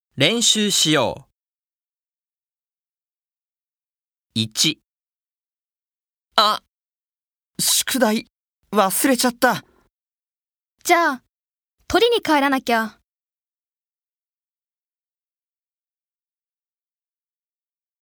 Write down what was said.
練習しよう。1、あ、宿題忘れちゃった。 じゃあ、取りに帰らなきゃ。